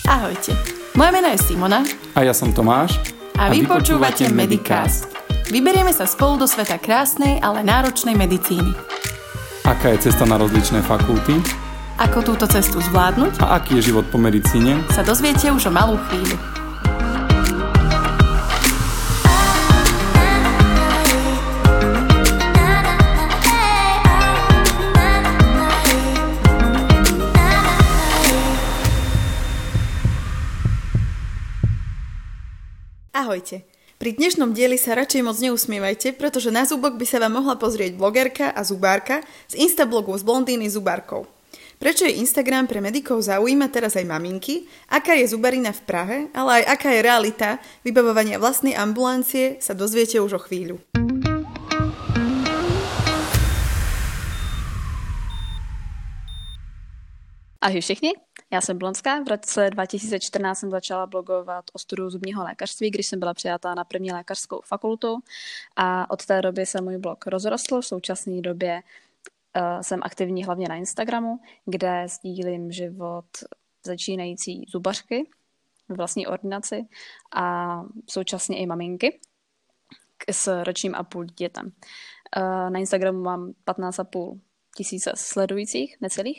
Ahojte, moje meno je Simona a ja som Tomáš a vy počúvate Medicast. Vyberieme sa spolu do sveta krásnej, ale náročnej medicíny. Aká je cesta na rozličné fakulty? Ako túto cestu zvládnuť? A aký je život po medicíne? Sa dozviete už o malú chvíľu. Ahojte. Pri dnešnom dieli sa radšej moc neusmievajte, pretože na zúbok by sa vám mohla pozrieť blogerka a zubárka z instablogu z Blondíny zubárkou. Prečo je Instagram pre medikov zaujíma teraz aj maminky, aká je zubarina v Prahe, ale aj aká je realita vybavovania vlastnej ambulancie, sa dozviete už o chvíľu. Ahoj všichni, já jsem Blonská. V roce 2014 jsem začala blogovat o studiu zubního lékařství, když jsem byla přijatá na první lékařskou fakultu a od té doby se můj blog rozrostl. V současné době jsem aktivní hlavně na Instagramu, kde sdílím život začínající zubařky v vlastní ordinaci a současně i maminky s ročním a půl dítětem. Na Instagramu mám 15,5 tisíce sledujících, necelých.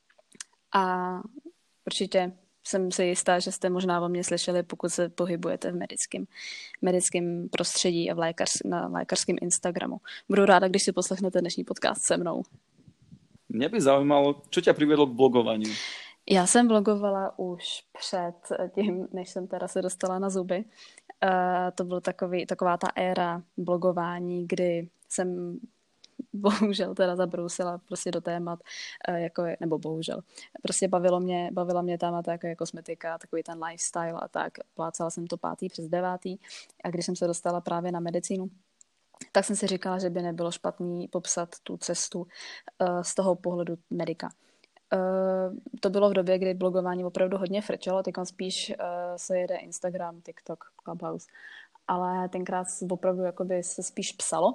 A určitě jsem si jistá, že jste možná o mě slyšeli, pokud se pohybujete v medickém prostředí a na lékařském Instagramu. Budu ráda, když si poslechnete dnešní podcast se mnou. Mě by zajímalo, co tě přivedlo k blogování? Já jsem blogovala už před tím, než jsem teda se dostala na zuby. To byla taková ta éra blogování, kdy jsem bohužel teda zabrousila prostě do témat, nebo bohužel. Prostě bavila mě témata jako je kosmetika, takový ten lifestyle a tak. Plácala jsem to 5. přes 9. A když jsem se dostala právě na medicínu, tak jsem si říkala, že by nebylo špatný popsat tu cestu z toho pohledu medika. To bylo v době, kdy blogování opravdu hodně frčelo, teď spíš se jede Instagram, TikTok, Clubhouse, ale tenkrát opravdu jakoby se spíš psalo.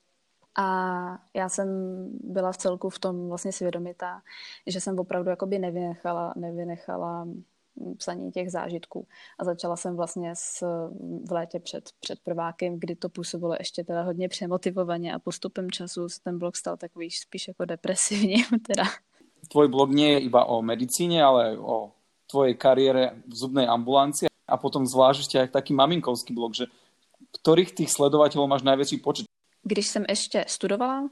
A já jsem byla v celku v tom vlastně svědomitá, že jsem opravdu jakoby nevynechala psaní těch zážitků. A začala jsem vlastně v létě před prvákem, kdy to působilo ještě teda hodně přemotivovaně a postupem času se ten blog stal takový spíš jako depresivní. Teda. Tvoj blog nie je iba o medicíne, ale o tvojej kariére v zubnej ambulancii a potom zvlášť ešte aj taký maminkovský blog, že ktorých tých sledovateľov máš najväčší počet? Když jsem ještě studovala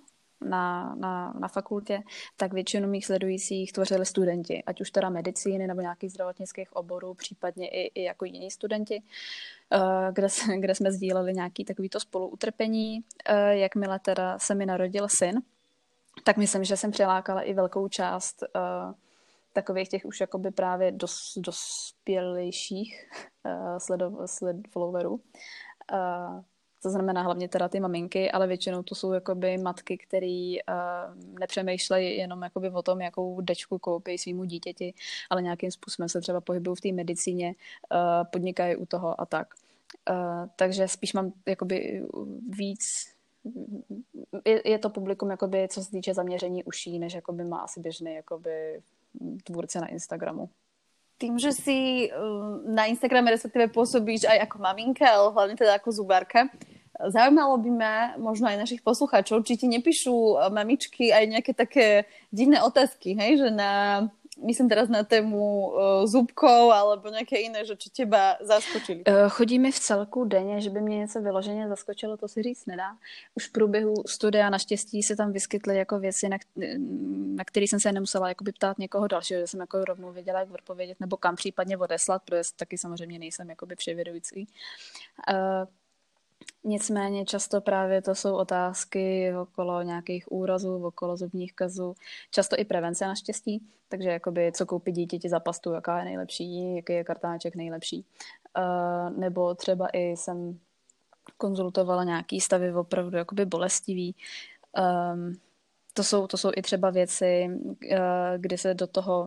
na fakultě, tak většinu mých sledujících tvořili studenti, ať už teda medicíny nebo nějakých zdravotnických oborů, případně i jako jiní studenti, kde jsme sdíleli nějaký takovýto spoluutrpení. Jakmile teda se mi narodil syn, tak myslím, že jsem přilákala i velkou část takových těch už jakoby právě dospělejších followerů. To znamená hlavně teda ty maminky, ale většinou to jsou jakoby matky, které nepřemýšlejí jenom jakoby o tom, jakou dečku koupí svýmu dítěti, ale nějakým způsobem se třeba pohybují v té medicíně, podnikají u toho a tak. Takže spíš mám jakoby víc, je to publikum jakoby, co se týče zaměření uší, než jakoby má asi běžný jakoby tvůrce na Instagramu. Tým, že si na Instagrame respektíve pôsobíš aj ako maminka, ale hlavne teda ako zubárka, zaujímalo by ma možno aj našich poslucháčov, či ti nepíšu mamičky aj nejaké také divné otázky, hej? Že myslím teraz na tému zubkov alebo nějaké jiné, že čo teba zaskočili. Chodí mi v celku denně, že by mě něco vyloženě zaskočilo, to si říct nedá. Už v průběhu studia naštěstí se tam vyskytly jako věci, na které jsem se nemusela jakoby ptát někoho dalšího, že jsem jako rovnou věděla, jak odpovědět nebo kam případně odeslat, protože taky samozřejmě nejsem jakoby vševědoucí. Nicméně často právě to jsou otázky okolo nějakých úrazů, okolo zubních kazů, často i prevence naštěstí, takže jakoby co koupit dítěti za pastu, jaká je nejlepší, jaký je kartáček nejlepší. Nebo třeba i jsem konzultovala nějaký stavy opravdu jakoby bolestivý. To jsou i třeba věci, kdy se do toho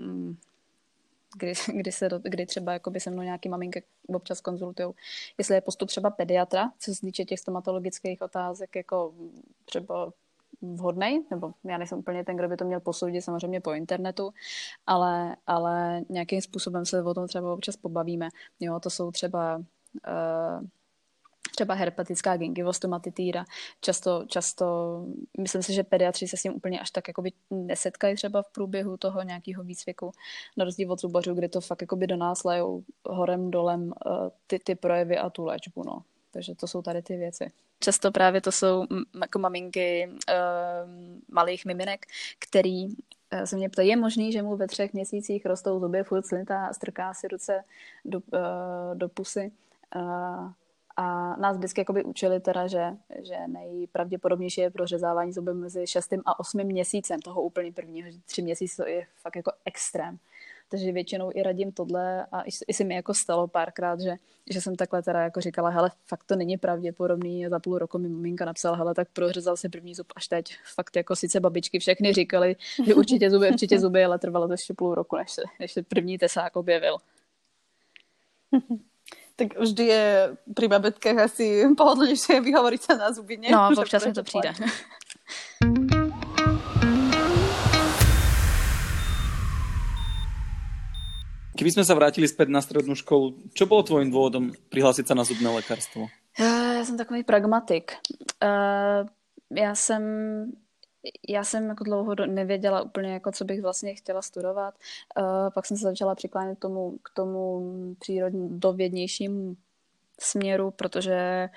kdy třeba jakoby se mnou nějaký maminky občas konzultujou, jestli je postup třeba pediatra, co se týče těch stomatologických otázek, jako třeba vhodný, nebo já nejsem úplně ten, kdo by to měl posoudit samozřejmě po internetu, ale nějakým způsobem se o tom třeba občas pobavíme. Jo, to jsou třeba herpetická gingivostomatitýra. Často, myslím si, že pediatři se s tím úplně až tak jakoby nesetkají třeba v průběhu toho nějakého výcviku, na rozdíl od zubařů, kde to fakt jakoby do nás lejou horem dolem ty projevy a tu léčbu, no. Takže to jsou tady ty věci. Často právě to jsou jako maminky malých miminek, který se mě ptají, je možný, že mu ve 3 měsících rostou zuby, furt slintá a strká si ruce do pusy. A nás vždycky jakoby učili teda, že nejpravděpodobnější je prořezávání zuby mezi 6. a 8. měsícem toho úplně prvního, že 3 měsíce to je fakt jako extrém. Takže většinou i radím tohle a i se mi jako stalo párkrát, že jsem takhle teda jako říkala, hele, fakt to není pravděpodobný, a za půl roku mi maminka napsala, hele, tak prořezal se první zub až teď. Fakt jako sice babičky všechny říkali, že určitě zuby, ale trvalo to ještě půl roku, než se první tesák objevil. Tak vždy je pri babetkách asi pohodlnejšie vyhovoriť sa na zuby, nie? No, občas mi to přijde. Keby sme sa vrátili späť na strednú školu, čo bolo tvojím dôvodom prihlásiť sa na zubné lekárstvo? Já jsem takový pragmatik. Já jsem jako dlouho nevěděla úplně, jako, co bych vlastně chtěla studovat. Pak jsem se začala přiklánět k tomu přírodovědnějšímu směru, protože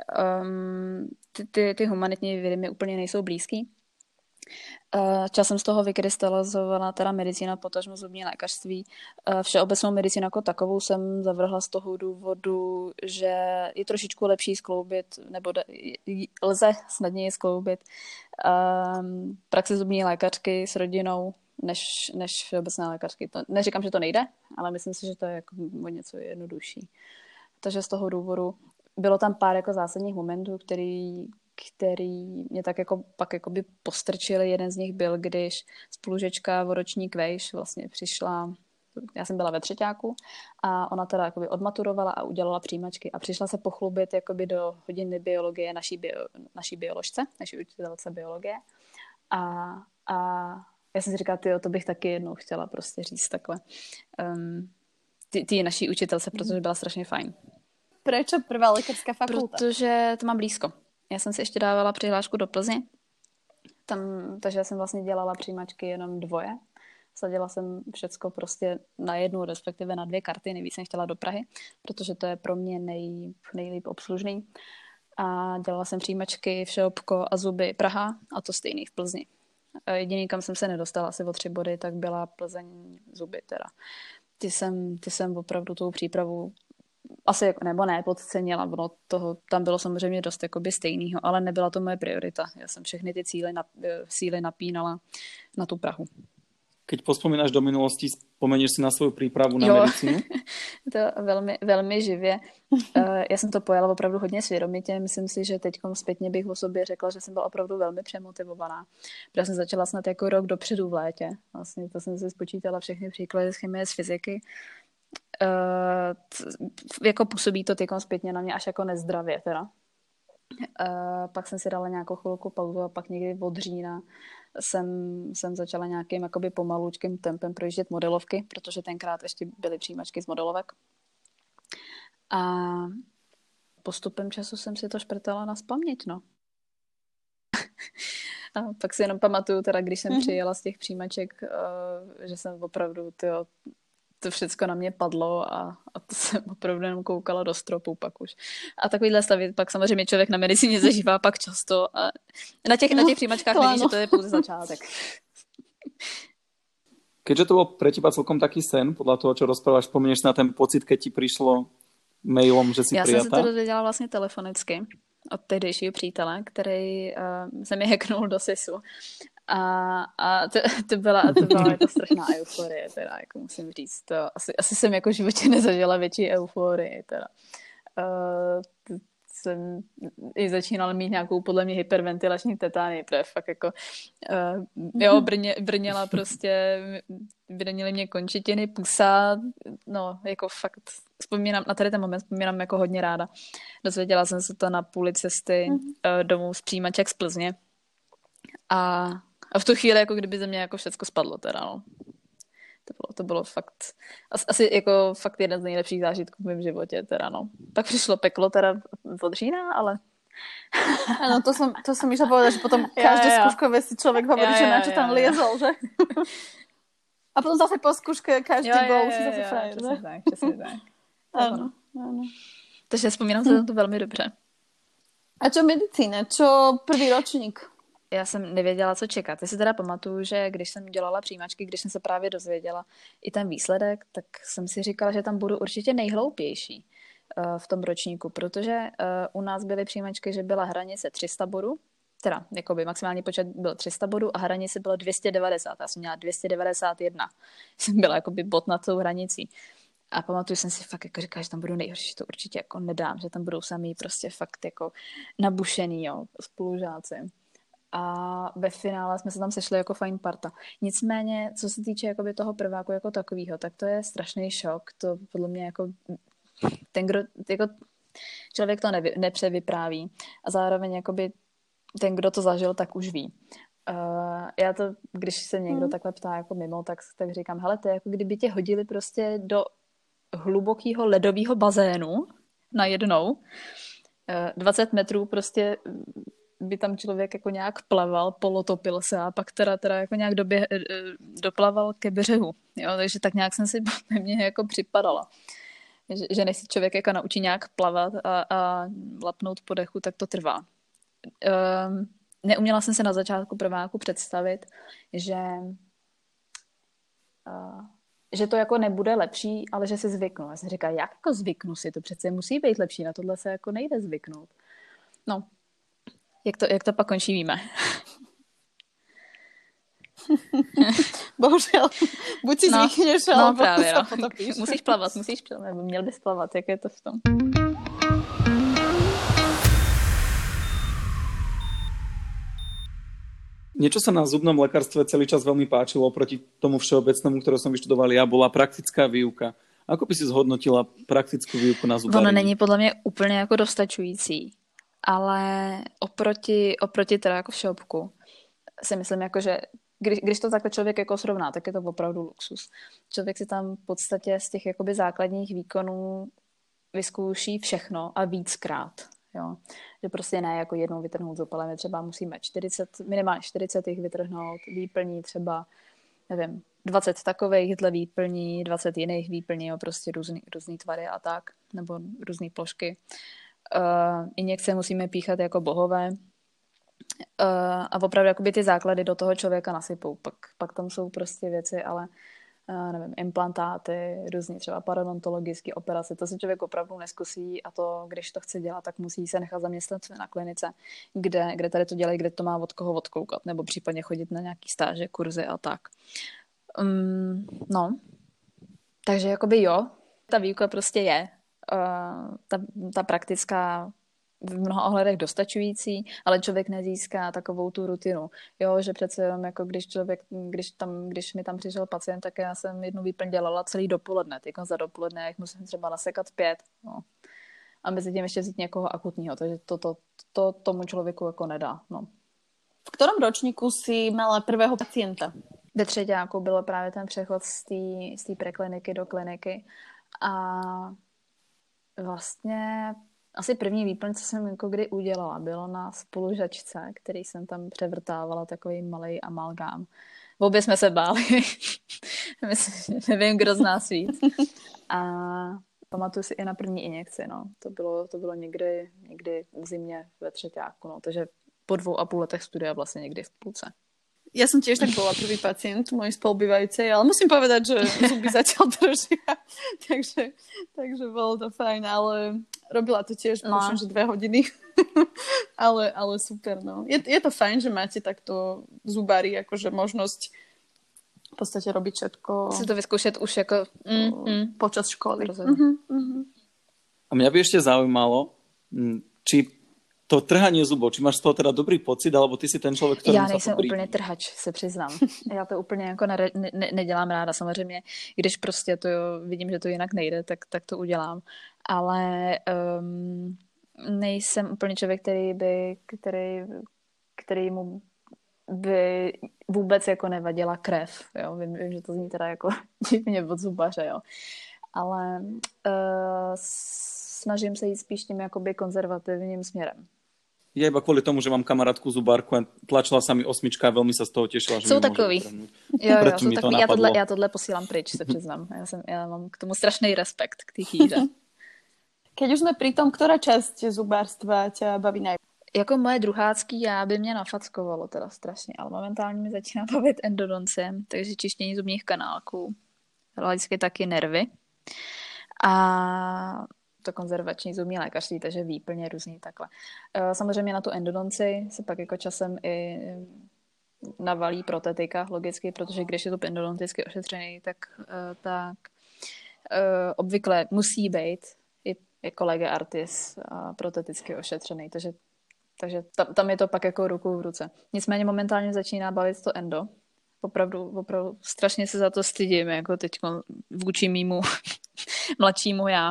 ty humanitní vědy mi úplně nejsou blízký. Časem z toho vykrystalizovala teda medicína, potažmo zubní lékařství. Všeobecnou medicínu jako takovou jsem zavrhla z toho důvodu, že je trošičku lepší skloubit, nebo lze snadněji skloubit praxi zubní lékařky s rodinou, než všeobecné lékařky. Neříkám, že to nejde, ale myslím si, že to je jako o něco jednodušší. Takže z toho důvodu bylo tam pár jako zásadních momentů, který mě tak jako pak jakoby postrčili. Jeden z nich byl, když spolužečka o ročník vejš vlastně přišla, já jsem byla ve 3. a ona teda jakoby odmaturovala a udělala přijímačky a přišla se pochlubit jakoby do hodiny biologie naší bioložce, naší učitelce biologie a já jsem si říkala, to bych taky jednou chtěla prostě říct takhle. Ty naší učitelce, protože byla strašně fajn. Prečo prvá lékařská fakulta? Protože to mám blízko. Já jsem si ještě dávala přihlášku do Plzně, takže jsem vlastně dělala přijímačky jenom 2. Sadila jsem všecko prostě na 1, respektive na 2 karty, nejvíc jsem chtěla do Prahy, protože to je pro mě nejlíp obslužný. A dělala jsem přijímačky Všeobko a zuby Praha a to stejný v Plzni. Jediný, kam jsem se nedostala asi o 3 body, tak byla Plzeň zuby teda. Ty jsem opravdu tou přípravu asi nebo ne, podcenila, tam bylo samozřejmě dost jakoby stejného, ale nebyla to moje priorita. Já jsem všechny ty síly napínala na tu Prahu. Keď pospomínaš do minulosti, spomenieš si na svoju prípravu na medicínu? To velmi, velmi živě. Já jsem to pojala opravdu hodně svědomitě. Myslím si, že teď zpětně bych o sobě řekla, že jsem byla opravdu velmi přemotivovaná. Protože jsem začala snad jako rok dopředu v létě. Vlastně to jsem si spočítala všechny příklady z chemie, z fyziky. Jako působí to tykom zpětně na mě až jako nezdravě teda. Pak jsem si dala nějakou chvilku pauzu a pak někdy od října jsem začala nějakým jakoby pomalučkým tempem projíždět modelovky, protože tenkrát ještě byly přijímačky z modelovek. A postupem času jsem si to šprtala na spaměť, no. A pak si jenom pamatuju, teda, když jsem přijela z těch přijímaček, že jsem opravdu to všechno na mě padlo a to jsem opravdu jenom koukala do stropu pak už. A takovýhle stavy pak samozřejmě člověk na medicíně zažívá pak často a na těch příjmačkách vidí, že to je pouze začátek. Keďže to bol pre teba celkom taký sen, podľa toho, čo rozprávaš, spomenieš na ten pocit, keď ti prišlo mailom, že si prijatá? Já jsem se to dozvěděla vlastně telefonicky od tehdejšího přítele, který se mi hacknul do SISu. A to byla jako strašná euforie, teda, jako musím říct. To asi jsem jako v životě nezažila větší euforii, teda. Jsem i začínala mít nějakou podle mě hyperventilační tetánii, protože fakt jako brněla prostě, brněly mě končetiny, pusa, no jako fakt vzpomínám, na tady ten moment vzpomínám jako hodně ráda. Dozvěděla jsem se to na půli cesty domů z přijímaček z Plzně A v tu chvíli, jako kdyby ze mě jako všecko spadlo teda, no. To bylo fakt, asi jako fakt jeden z nejlepších zážitků v mém životě teda, no. Pak přišlo peklo teda od října, ale... Áno, to som išla povedať, že potom každé skúškové si človek hovorí, že na čo tam liezol, že? A potom zase po skúške každý bol už zase frajer, že? Přesně tak. Áno. Takže vzpomínám se na to velmi dobře. A čo medicína? Čo prvý ročník? Já jsem nevěděla, co čekat. Já si teda pamatuju, že když jsem dělala přijímačky, když jsem se právě dozvěděla i ten výsledek, tak jsem si říkala, že tam budu určitě nejhloupější v tom ročníku, protože u nás byly přijímačky, že byla hranice 300 bodů, teda jakoby maximální počet byl 300 bodů a hranice bylo 290. Já jsem měla 291. Jsem byla jakoby bod nad tou hranicí. A pamatuju jsem si fakt jako říkala, že tam budu nejhorší, že to určitě jako nedám, že tam budou samý prostě fakt jako nabušený, jo, spolužáci. A ve finále jsme se tam sešli jako fajn parta. Nicméně, co se týče jakoby toho prváku jako takového, tak to je strašný šok. To podle mě jako ten, kdo, jako člověk to nepřevypráví a zároveň jakoby ten, kdo to zažil, tak už ví. Já to, když se někdo takhle ptá jako mimo, tak říkám, hele, to je jako kdyby tě hodili prostě do hlubokého ledového bazénu najednou. 20 metrů prostě by tam člověk jako nějak plaval, polotopil se a pak teda jako nějak doplaval ke břehu. Jo? Takže tak nějak jsem si na mě jako připadala. Že než si člověk jako naučí nějak plavat a lapnout po dechu, tak to trvá. Neuměla jsem se na začátku prváku představit, že to jako nebude lepší, ale že si zvyknu. Já jsem říkala, jak jako zvyknu si, to přece musí být lepší, na tohle se jako nejde zvyknout. No, jak to pak končí, víme. Bohužel, buď si zvykneš, alebo právě, sa potopíš. Musíš plavat, nebo měl bys plavat, jak je to v tom. Niečo sa na zubnom lekárstve celý čas veľmi páčilo oproti tomu všeobecnému, ktoré som vyštudoval ja, bola praktická výuka. Ako by si zhodnotila praktickú výuku na zubaření? Ono není podle mě úplně jako dostačující, ale oproti teda jako v shopku si myslím, jako, že když to takhle člověk jako srovná, tak je to opravdu luxus. Člověk si tam v podstatě z těch jakoby základních výkonů vyzkouší všechno a víckrát. Jo. Že prostě ne jako jednou vytrhnout zub, ale my třeba musíme minimálně 40 jich vytrhnout, výplní třeba, nevím, 20 takovejhle výplní, 20 jiných výplní, jo, prostě různý tvary a tak, nebo různé plošky. Injekce musíme píchat jako bohové. A opravdu jakoby ty základy do toho člověka nasypou. Pak tam jsou prostě věci, ale nevím, implantáty, různě třeba parodontologické operace, to se člověk opravdu neskusí a to, když to chce dělat, tak musí se nechat zaměstnat na klinice, kde tady to dělají, kde to má od koho odkoukat, nebo případně chodit na nějaký stáže, kurzy a tak. No, takže jakoby jo, ta výuka prostě je, ta praktická v mnoha ohledech dostačující, ale člověk nezíská takovou tu rutinu. Jo, že přece jenom jako když mi tam přišel pacient, tak já jsem jednu výplň dělala celý dopoledne. Teď za dopoledne jak musím třeba nasekat 5. No. A mezi tím ještě vzít někoho akutního, takže to tomu člověku jako nedá. No. V ktorom ročníku si mala prvého pacienta? Ve třeťáku byl právě ten přechod z té prekliniky do kliniky a vlastně asi první výplň, co jsem jako kdy udělala, bylo na spolužačce, který jsem tam převrtávala, takový malej amalgám. Obě jsme se báli. Myslím, nevím, kdo z nás víc. A pamatuju si i na první injekci, no. To bylo někdy v zimě ve třeťáku, no. Takže po 2,5 letech studia vlastně někdy v půlce. Ja som tiež tak bola prvý pacient mojej spolubývajúcej, ale musím povedať, že zuby zatiaľ držia. takže bolo to fajn, ale robila to tiež, možno, že 2 hodiny. ale super, no. Je to fajn, že máte takto zubári, akože možnosť v podstate robiť všetko. Si to vyskúšať už ako počas školy. A mňa by ešte zaujímalo, či to trhanie zubov, či máš z toho teda dobrý pocit, alebo ty si ten člověk, který Já nejsem úplně trhač, se přiznám. Já to úplně jako nedělám ráda, samozřejmě. Když prostě to vidím, že to jinak nejde, tak to udělám. Ale nejsem úplně člověk, který mu by vůbec jako nevadila krev, jo. Vím, že to zní teda jako divně od zubaře, jo. Ale snažím se jít spíš tím jakoby konzervativním směrem. Ja iba kvôli tomu, že mám kamarátku zubárku a tlačila sa mi 8 a veľmi sa z toho tešila, že Jsou mi takový. Jo, jsou takový. Já tohle posílám pryč, se přiznám. Já mám k tomu strašný respekt k té chýře. Keď už sme pri tom, ktorá časť zubárstva ťa baví najviac? Jako moje druhácký já by mě nafackovalo teda strašně, ale momentálně mi začíná bavit endodoncie, takže čištění zubních kanálků, hlavně taky nervy a to konzervační zubní lékařství, takže výplně různý takhle. Samozřejmě na tu endodonci se pak jako časem i navalí protetika, logicky, protože když je to endodonticky ošetřený, tak obvykle musí být i jako lege artis proteticky ošetřený, takže tam je to pak jako ruku v ruce. Nicméně momentálně začíná bavit to endo. Opravdu strašně se za to stydím, jako teď vůči mýmu mladšímu já.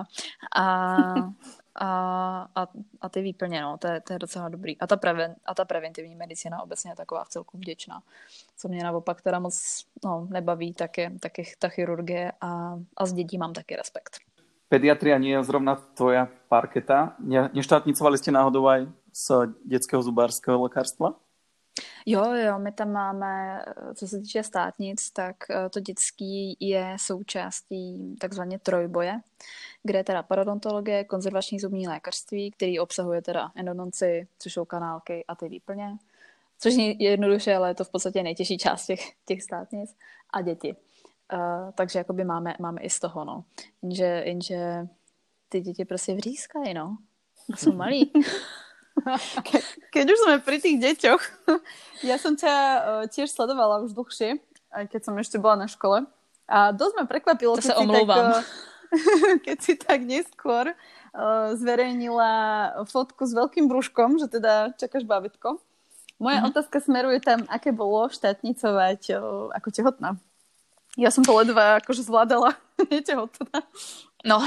A ty výplně, no, to je docela dobrý. A ta preventivní medicína obecně je taková vcelku vděčná. Co mě naopak teda moc nebaví, tak je ta chirurgie a z dětí mám taky respekt. Pediatria nie je zrovna tvoja parketa. Neštátnicovali ste náhodou aj z detského zubářského lékařstva? Jo, my tam máme, co se týče státnic, tak to dětský je součástí takzvaně trojboje, kde je teda parodontologie, konzervační zubní lékařství, který obsahuje teda endodonci, což jsou kanálky a ty výplně, což je jednoduše, ale je to v podstatě nejtěžší část těch státnic a děti. Takže jakoby máme i z toho, no. Jenže ty děti prostě vřískají, no. Jsou malí. Keď už sme pri tých deťoch, ja som ťa tiež sledovala už dlhšie, aj keď som ešte bola na škole. A dosť ma prekvapilo, keď si tak neskôr zverejnila fotku s veľkým brúškom, že teda čakáš bábätko. Moja otázka smeruje tam, aké bolo štátnicovať ako tehotná. Ja som to ledva akože zvládala netehotná. No,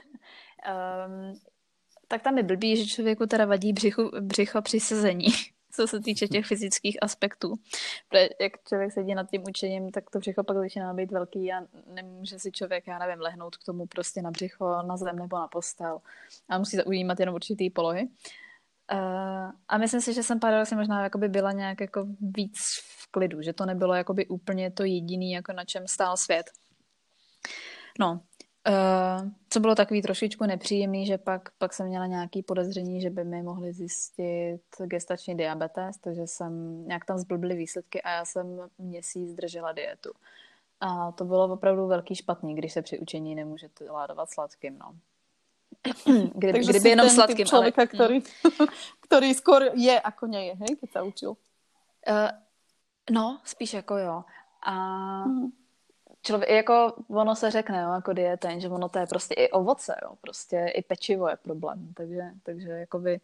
tak tam je blbý, že člověku teda vadí břicho při sezení, co se týče těch fyzických aspektů. Protože jak člověk sedí nad tím učením, tak to břicho pak začíná být velký a nemůže si člověk, já nevím, lehnout k tomu prostě na břicho, na zem nebo na postel. A musí ujímat jenom určitý polohy. A myslím si, že jsem paradoxně možná jakoby byla nějak jako víc v klidu, že to nebylo jakoby úplně to jediný, jako na čem stál svět. No, co bylo takový trošičku nepříjemný, že pak jsem měla nějaký podezření, že by mi mohli zjistit gestační diabetes, takže jsem nějak tam zblbly výsledky a já jsem měsíc držela dietu. A to bylo opravdu velký špatný, když se při učení nemůžete ládovat sladkým, no. Kdyby jenom sladkým. Člověka, který skôr je, ako nie je, hej, keď sa učil. No, spíš jako jo. A člověk, jako ono se řekne, jo, jako dieteň, že ono to je prostě i ovoce, jo, prostě i pečivo je problém, takže jakoby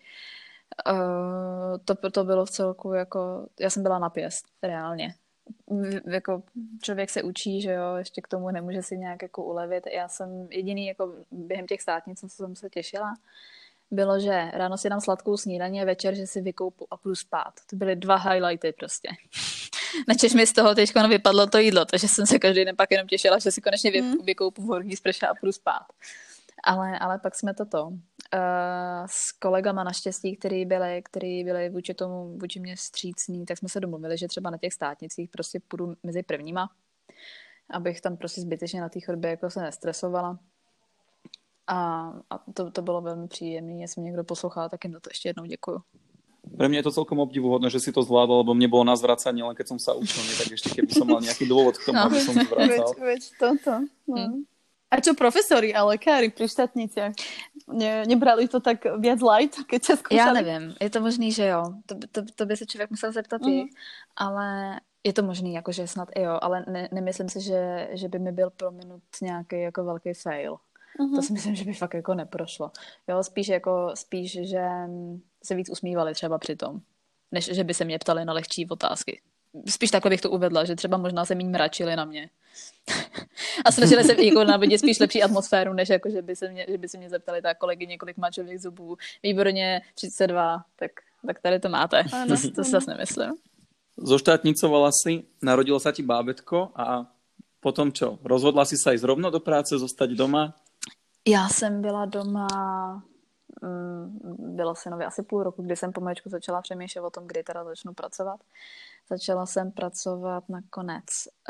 to bylo v celku jako, já jsem byla na pěst, reálně. Jako člověk se učí, že jo, ještě k tomu nemůže si nějak jako ulevit. Já jsem jediný jako během těch státnic, co jsem se těšila, bylo, že ráno si dám sladkou snídaní a večer, že si vykoupu a půjdu spát. To byly 2 highlighty prostě. Načež mi z toho teď vypadlo to jídlo, takže jsem se každý den pak jenom těšila, že si konečně vykoupu v horní sprše a půjdu spát. Ale pak jsme s kolegama naštěstí, který byli vůči mě vstřícní, tak jsme se domluvili, že třeba na těch státnicích prostě půjdu mezi prvníma, abych tam prostě zbytečně na té chodbě jako se nestresovala. A to bylo velmi příjemné. Jestli mě někdo poslouchal, tak jim za to ještě jednou děkuju. Pre mňa je to celkom obdivuhodné, že si to zvládol, lebo mne bolo na zvracanie, len keď som sa učil, tak ešte keby som mal nejaký dôvod k tomu, aby som zvracal. Veď toto. No. A čo profesori a lekári pri štátniciach? Nebrali to tak viac light, keď ťa skúšali? Já nevím, je to možný, že jo. To by se člověk musel zeptat i, ale je to možný, jakože snad i jo, ale nemyslím si, že by mi byl prominut nějaký jako velký fail. To si myslím, že by fakt jako neprošlo. Jo, spíš, že se víc usmívali třeba při tom, než že by se mě ptali na lehčí otázky. Spíš takhle bych to uvedla, že třeba možná se míň mračili na mě. A snažili se jako navodit spíš lepší atmosféru, než jako, že by se mě zeptali tak kolegyně, kolik má člověk zubů. Výborně, 32, tak tady to máte. To zase nemyslím. Zoštátnicovala si, narodilo sa ti bábätko a potom čo? Rozhodla si sa ísť rovno do práce, zostať doma? Já jsem byla doma, bylo synovi asi půl roku, kdy jsem pomaličku začala přemýšlet o tom, kdy teda začnu pracovat. Začala jsem pracovat nakonec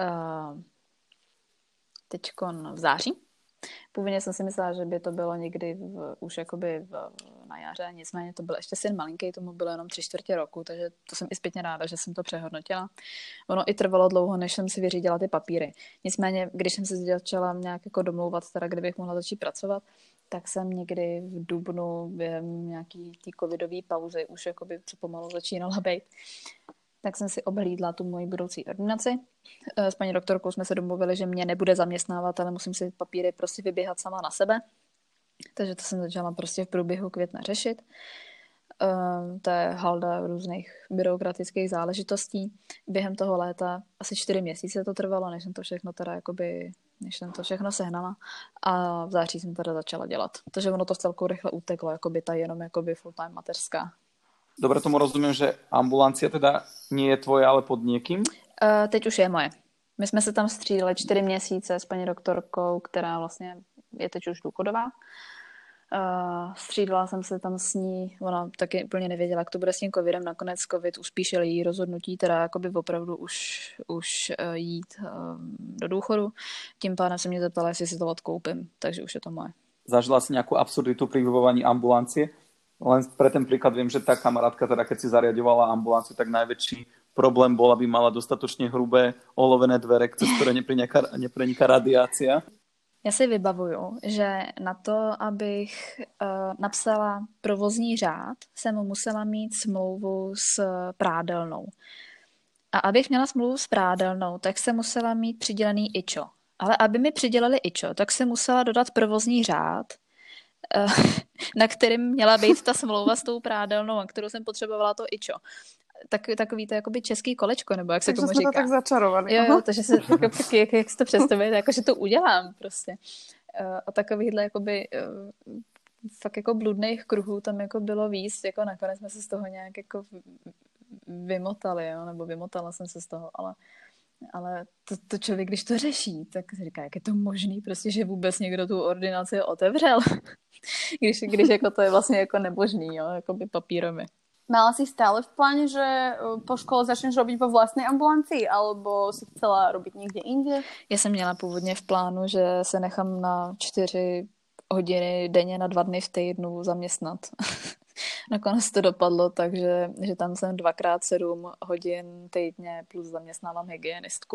teďkon v září. Původně jsem si myslela, že by to bylo někdy už jakoby na jaře, nicméně to byl ještě syn malinký, tomu bylo jenom 3/4 roku, takže to jsem i zpětně ráda, že jsem to přehodnotila. Ono i trvalo dlouho, než jsem si vyřídila ty papíry. Nicméně, když jsem se začala nějak jako domlouvat, teda kdybych mohla začít pracovat, tak jsem někdy v dubnu během nějaký té covidové pauzy už jakoby co pomalu začínala být. Tak jsem si obhlídla tu moji budoucí ordinaci. S paní doktorkou jsme se domluvili, že mě nebude zaměstnávat, ale musím si papíry prostě vyběhat sama na sebe. Takže to jsem začala prostě v průběhu května řešit. To je halda různých byrokratických záležitostí. Během toho léta asi 4 měsíce to trvalo, než jsem to všechno teda jakoby, než jsem to všechno sehnala. A v září jsem teda začala dělat. Takže ono to celkou rychle uteklo, jakoby ta jenom jakoby full-time mateřská. Dobre tomu rozumiem, že ambulancia teda nie je tvoje, ale pod niekým? Teď už je moje. My jsme se tam střídali 4 měsíce s paní doktorkou, která vlastně je teď už důchodová. Střídala jsem se tam s ní, ona taky úplně nevěděla, jak to bude s tím covidem, nakonec covid uspíšil její rozhodnutí, teda jakoby opravdu už jít do důchodu. Tím pádem se mě zeptala, jestli si to odkoupím, takže už je to moje. Zažila si nejakú absurditu pri vybavovaní ambulancie? Len pre ten príklad viem, že tá kamarátka, teda keď si zariadovala ambulanciu, tak najväčší problém bol, aby mala dostatočne hrubé olovené dvere, cez ktoré nepreniká radiácia. Já si vybavuju, že na to, abych napsala provozní řád, jsem musela mít smlouvu s prádelnou. A abych měla smlouvu s prádelnou, tak jsem musela mít přidělený IČO. Ale aby mi přidělali IČO, tak jsem musela dodat provozní řád, na kterým měla být ta smlouva s tou prádelnou, a kterou jsem potřebovala to IČO. Takový to jakoby český kolečko, nebo jak se tomu říká. Takže jsme to tak začarovaný. Jo, takže se jak si to představujete, jako že to udělám prostě. A takovýhle jakoby fakt jako bludných kruhů tam jako bylo víc, jako nakonec jsme se z toho nějak jako vymotali, jo, nebo vymotala jsem se z toho, ale to člověk, když to řeší, tak si říká, jak je to možný, prostě, že vůbec někdo tu ordinaci otevřel, když jako to je vlastně jako nemožný, jo, jako by papírově. Mala si stále v pláne, že po škole začneš robiť vo vlastnej ambulancii, alebo si chcela robiť niekde inde? Já jsem měla původně v plánu, že se nechám na 4 hodiny denně na 2 dny v týdnu zaměstnat. Nakonec to dopadlo, takže že tam jsem 2x7 hodin týdně plus zaměstnávám hygienistku.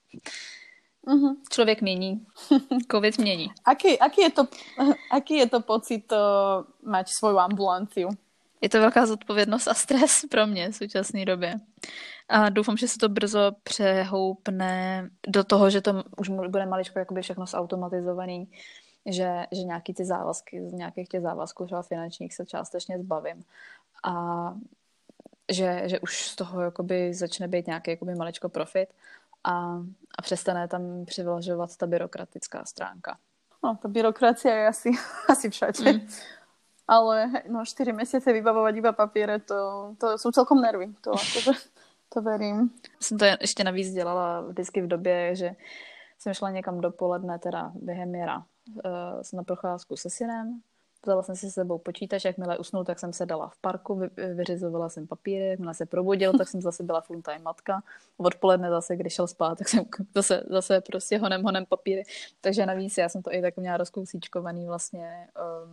Člověk mění. Covid mění. Aký je to pocit mať svoju ambulanciu? Je to velká zodpovědnost a stres pro mě v současné době. A doufám, že se to brzo přehoupne do toho, že to už bude maličko jakoby všechno zautomatizovaný, že nějaký ty závazky, z nějakých těch závazků třeba finančních se částečně zbavím. A že už z toho jakoby začne být nějaký jakoby maličko profit a přestane tam přivylažovat ta byrokratická stránka. No, ta byrokracia je asi všade. Ale 4 mesiace vybavovať iba papiere, to sú celkom nervy. To verím. Jsem to ještě navíc dělala vždycky v době, že jsem šla někam dopoledne, teda během jara, jsem na procházku se synem, vzala jsem si s sebou počítač, jakmile usnul, tak jsem se dala v parku, vyřizovala jsem papíry, jakmile se probudil, tak jsem zase byla full time matka. Odpoledne zase, když šel spát, tak jsem zase prostě honem papíry. Takže navíc já jsem to i tak měla rozkousíčkovaný vlastně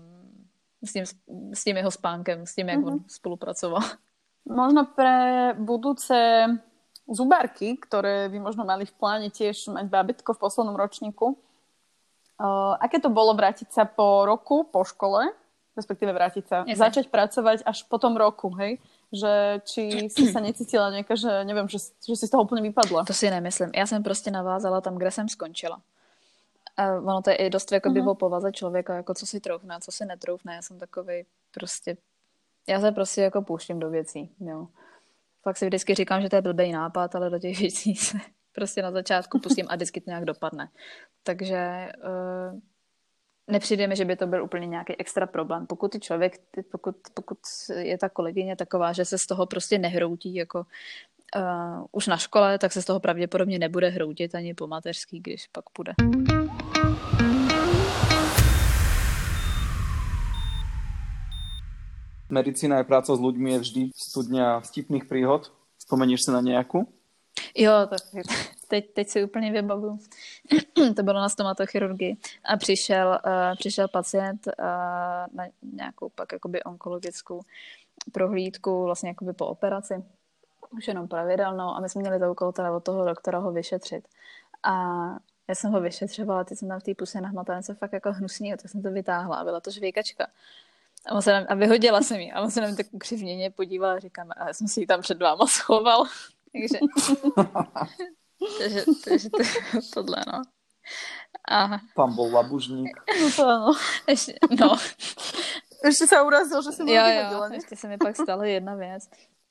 s tím jeho spánkem, s tím, jak on spolupracoval. Možno pre budúce zubárky, ktoré by možno mali v pláne tiež mať bábätko v poslednom ročníku, aké to bolo vrátiť sa po roku, po škole, respektíve začať pracovať až po tom roku, hej? Že či si sa necítila nejaká, že neviem, že si z toho úplne vypadla. To si nemyslím. Já jsem prostě navázala tam, kde jsem skončila. A ono to je i dost jakoby o povaze člověka, jako co si troufne, co si netroufne. Já jsem takovej prostě, já se prostě jako pouštím do věcí, jo. Fakt si vždycky říkám, že to je blbej nápad, ale do těch věcí se prostě na začátku pustím a vždycky to nějak dopadne. Takže nepřijde mi, že by to byl úplně nějaký extra problém. Pokud pokud je ta kolegyně taková, že se z toho prostě nehroutí, jako už na škole, tak se z toho pravděpodobně nebude hroutit ani po mateřský, když pak půjde. Medicína je práca s ľuďmi, je vždy studňa vtipných príhod. Spomeníš si na nejakú? Jo, tak teď si úplně vybavuju. To bylo na stomatochirurgii a přišel pacient na nějakou pak jakoby onkologickou prohlídku vlastně jakoby po operaci. Už jenom pravidelnou a my jsme měli za úkol teda od toho doktora ho vyšetřit. A já jsem ho vyšetřovala, teď jsem tam v té puse nahmatala něco fakt jako hnusného, tak jsem to vytáhla a byla to žvejkačka. A vyhodila jsem ji a on se na mě tak ukřivněně podíval a říkám, a já jsem si ji tam před váma schoval. Takže tohle, no. A... Tam bol labužník. No to áno. Ešte sa urazil, že jsem ho vyhodila. Ještě se mi pak stala jedna věc.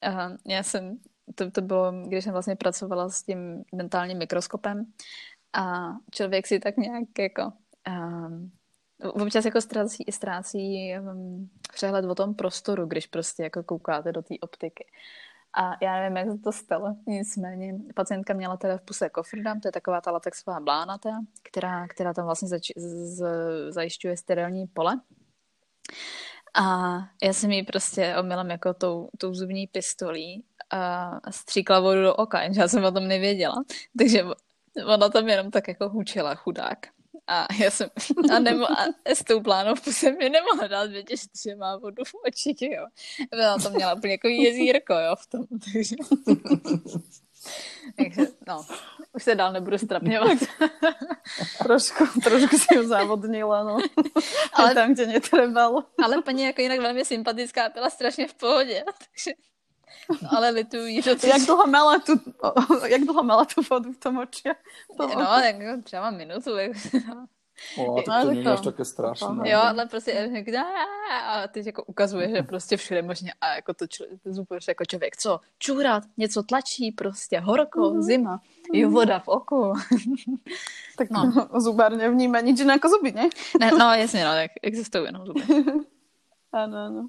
To bylo, když jsem vlastně pracovala s tím dentálním mikroskopem a člověk si tak nějak jako občas jako ztrácí přehled o tom prostoru, když prostě jako koukáte do té optiky. A já nevím, jak se to stalo, nicméně pacientka měla teda v puse kofrdam, to je taková ta latexová blánata, která tam vlastně zajišťuje sterilní pole. A já jsem jí prostě omylem jako tou zubní pistolí stříkla vodu do oka, jenže já jsem o tom nevěděla. Takže ona tam jenom tak jako hučila, chudák. A já jsem s tou plánou v puse mi nemohla dát vědět, že má vodu v očích, jo. Ona to měla úplně jako jezírko, jo, v tom. Takže no, už se dál nebudu strapňovat. trošku si ho závodnila, no. Ale tam, kde netrebalo. Ale paní jako jinak velmi sympatická, byla strašně v pohodě, takže... Ale lituji, že to... Jak dlho mala tu vodu v tom oči? No, tak jako třeba minutu. To nie je až také strašné. Jo, ale prostě a teď jako ukazuje, že prostě všude možně a jako to zupuješ jako člověk, co? Čůrat, něco tlačí prostě, horko, zima, jo, voda v oku. Tak no. Zubár nevníma nič iné ako zuby, ne? No jasně, no, tak existují jenom zuby. Áno.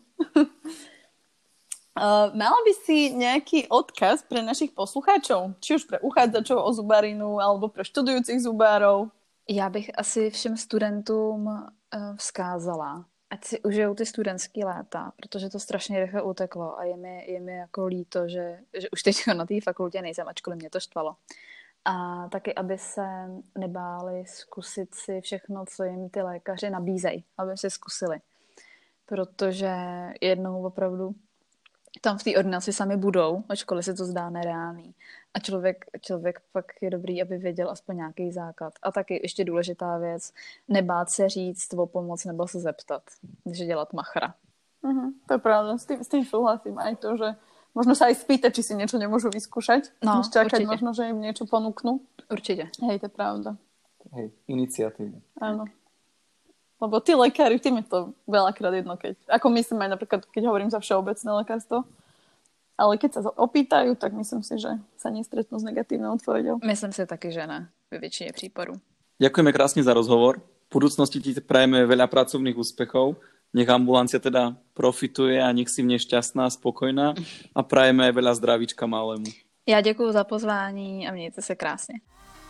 Mala by si nejaký odkaz pre našich poslucháčov? Či už pre uchádzačov o zubarinu, alebo pre študujúcich zubárov? Já bych asi všem studentům vzkázala, ať si užijou ty studentský léta, protože to strašně rychle uteklo a je mi jako líto, že už teď na té fakultě nejsem, ačkoliv mě to štvalo. A taky, aby se nebáli zkusit si všechno, co jim ty lékaři nabízejí, aby si zkusili. Protože jednou opravdu tam v té ordinaci sami budou, ačkoliv se to zdá nereálný. A člověk pak je dobrý, aby věděl aspoň nějaký základ. A taky ještě důležitá věc, nebát se říct o pomoc nebo se zeptat, než dělat machra. To je pravda, s tým súhlasím aj to, že možno sa aj spýtať, či si niečo nemôžu vyskúšať, než čakať určite. Možno, že im niečo ponúknú. Určite. Hej, to je pravda. Hej, iniciatívu. Áno. Lebo tí lekári, tým je to veľakrát jedno, ako myslím aj napríklad, keď hovorím za všeobecné lekárstvo, ale keď sa opýtajú, tak myslím si, že sa nestretnú s negatívnou odpoveďou. Myslím si taky, že ne, ve většině případů. Ďakujeme krásne za rozhovor. V budúcnosti ti prajeme veľa pracovných úspechov. Nech ambulancia teda profituje a nech si v nej šťastná, spokojná a prajeme aj veľa zdravíčka malému. Já děkuju za pozvání a mějte se krásně.